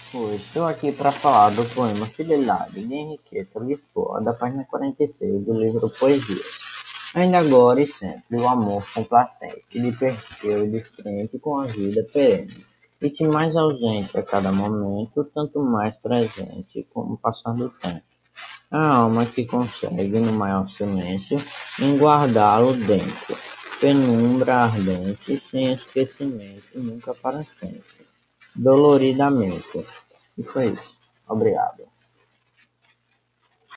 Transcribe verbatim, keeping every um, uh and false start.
Oi, estou aqui para falar do poema Fidelidade de Henriqueta Lisboa, da página quarenta e seis do livro Poesias. Ainda agora e sempre o amor complacente lhe perdeu de frente com a vida perene, e se mais ausente a cada momento, tanto mais presente com o passar do tempo. A alma que consegue, no maior silêncio, em guardá-lo dentro, penumbra ardente, sem esquecimento, nunca para sempre, doloridamente. E foi isso. Obrigado.